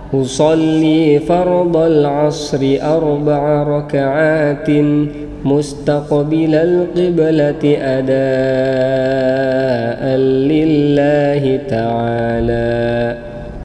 أصلي فرض العصر 4 ركعات مستقبل القبلة أداء لله تعالى.